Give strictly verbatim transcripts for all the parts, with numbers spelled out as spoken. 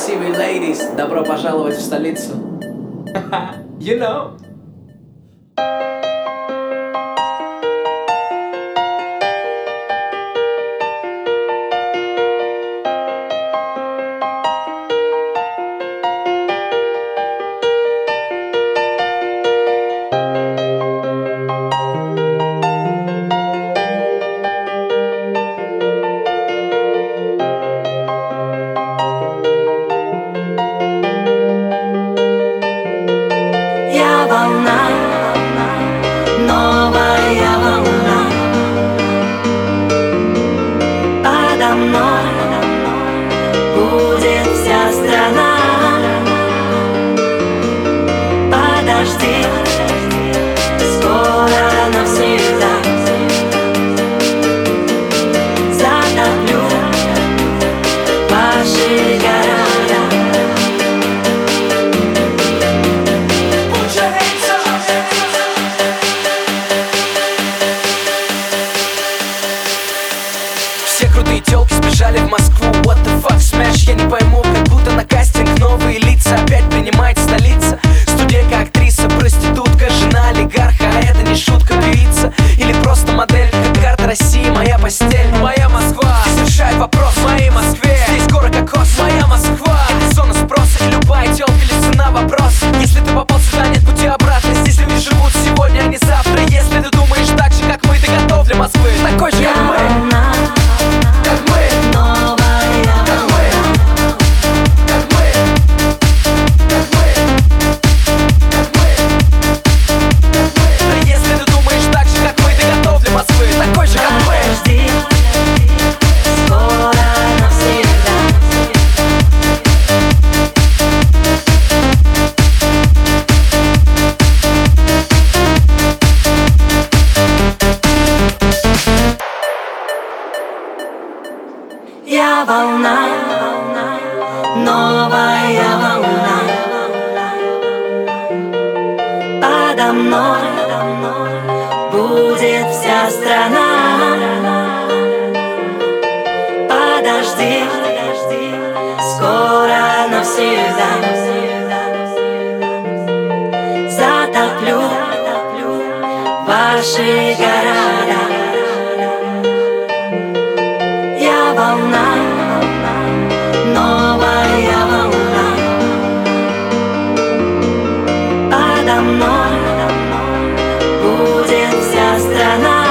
красивые ladies, добро пожаловать в столицу. You know. Волна, новая волна, подо мной будет вся страна. Подожди, скоро навсегда затоплю ваши города. Все крутые тёлки сбежали в Москву. What the fuck, smash, я не пойму. Как будто на кастинг новые лица опять принимает столица. Студентка, актриса, проститутка, жена олигарха. А это не шутка, певица или просто модель. Как карта России, моя постель. Моя Москва, здесь решает вопрос в моей Москве. Здесь город кокос, моя Москва. Это зона спроса, и любая тёлка лезет на вопрос. Если ты попал сюда, нет пути обратно. Здесь люди живут сегодня, а не завтра. Если ты думаешь так же, как мы, ты готов для Москвы. Такой же, как мы. Я волна, новая волна, подо мной будет вся страна. Подожди, скоро навсегда затоплю ваши города. Я волна, новая волна, подо мной будет вся страна.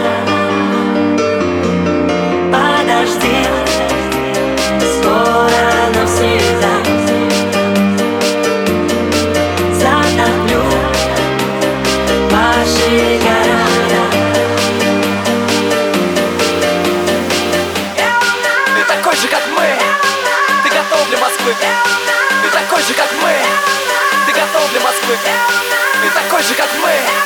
Подожди, скоро навсегда затоплю ваши города. Такой же, как мы, ты готов для Москвы. Ты такой же, как мы, ты готов для Москвы. Ты такой же, как мы.